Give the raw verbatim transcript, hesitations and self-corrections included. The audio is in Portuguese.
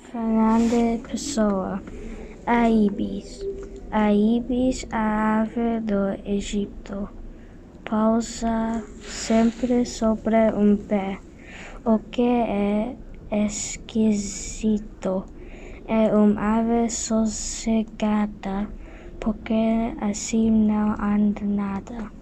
Fernando Pessoa. A ibis. A ibis, a ave do Egito, pousa sempre sobre um pé, o que é esquisito. É uma ave sossegada, porque assim não anda nada.